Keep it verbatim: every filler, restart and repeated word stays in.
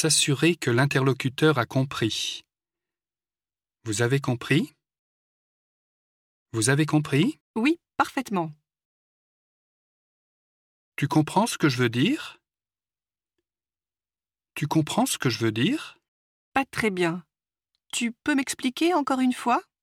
s'assurer que l'interlocuteur a compris. Vous avez compris? Vous avez compris? Oui, parfaitement. Tu comprends ce que je veux dire? Tu comprends ce que je veux dire? Pas très bien. Tu peux m'expliquer encore une fois?